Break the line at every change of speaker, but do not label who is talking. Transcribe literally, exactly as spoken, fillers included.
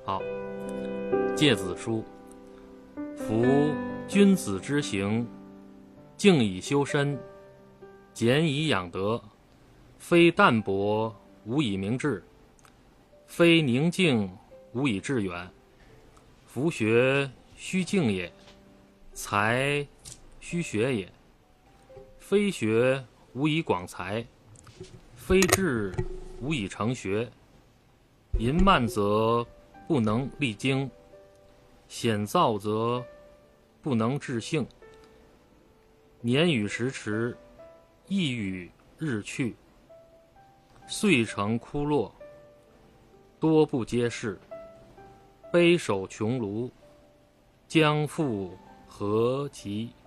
好，诫子书。夫君子之行，静以修身，俭以养德，非淡泊无以明志，非宁静无以致远。夫学须静也，才须学也。非学无以广才，非志无以成学。淫慢则不能励精，险躁则不能致性。年与时迟，意与日去，岁成枯落，多不接世。悲守穷庐，将复何及？